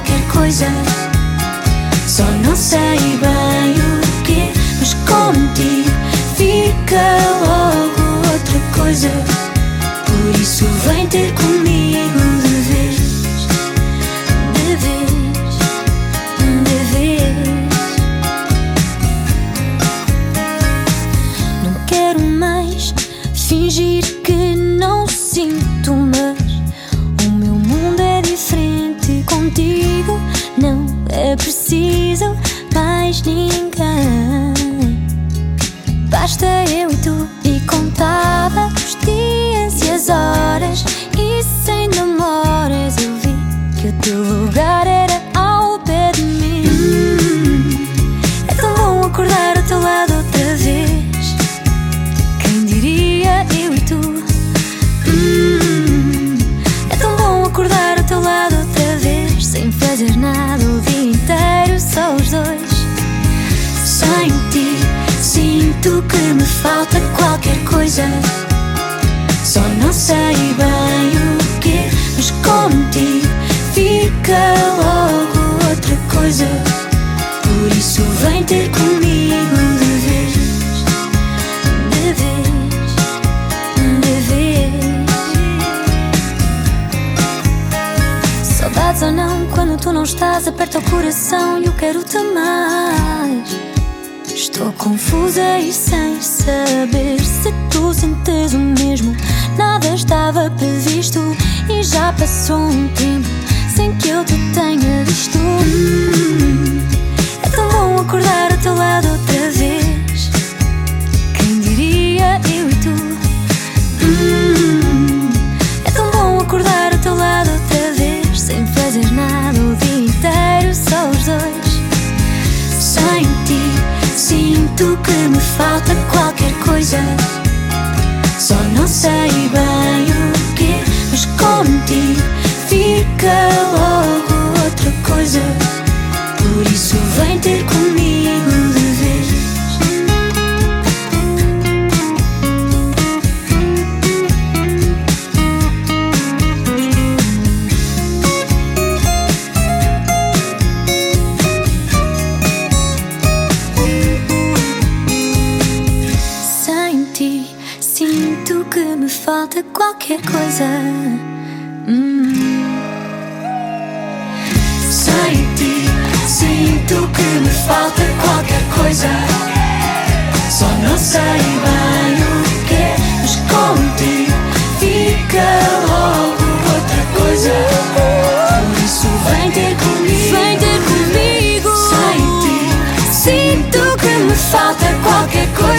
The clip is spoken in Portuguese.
qualquer coisa. Só não sei bem o quê, mas contigo fica logo outra coisa. Por isso vem ter comigo de vez, de vez, de vez. Não quero mais fingir que não sinto, mas o meu mundo é diferente contigo. Não é preciso mais ninguém. Basta eu e tu, e contava os dias e as horas, e sem demoras eu vi que o teu lugar era ao pé de mim. É tão bom acordar ao teu lado outra vez. Quem diria eu e tu? É tão bom acordar ao teu lado outra vez, sem fazer nada o dia inteiro, só os dois. Sem ti sinto que me falta qualquer coisa. Só não sei bem o quê, mas contigo fica logo outra coisa. Por isso vem ter comigo de vez, de vez, de vez. Saudades ou não, quando tu não estás, aperta o coração e eu quero-te mais. Estou confusa e sem saber se tu sentes o mesmo. Nada estava previsto e já passou um tempo sem que eu te tenha visto. É tão bom acordar ao teu lado outra vez. Quem diria eu e tu? É tão bom acordar ao teu lado outra vez, sem fazer nada o dia inteiro, só os dois. Sem ti sinto que me falta qualquer coisa. Só não sei bem o quê, mas contigo fica logo outra coisa. Por isso vem ter comigo de vez. Sinto que me falta qualquer coisa. Sem ti sinto que me falta qualquer coisa. Só não sei bem o quê, mas contigo fica logo outra coisa. Por isso vem ter comigo, vem ter comigo. Sem ti sinto que me falta qualquer coisa.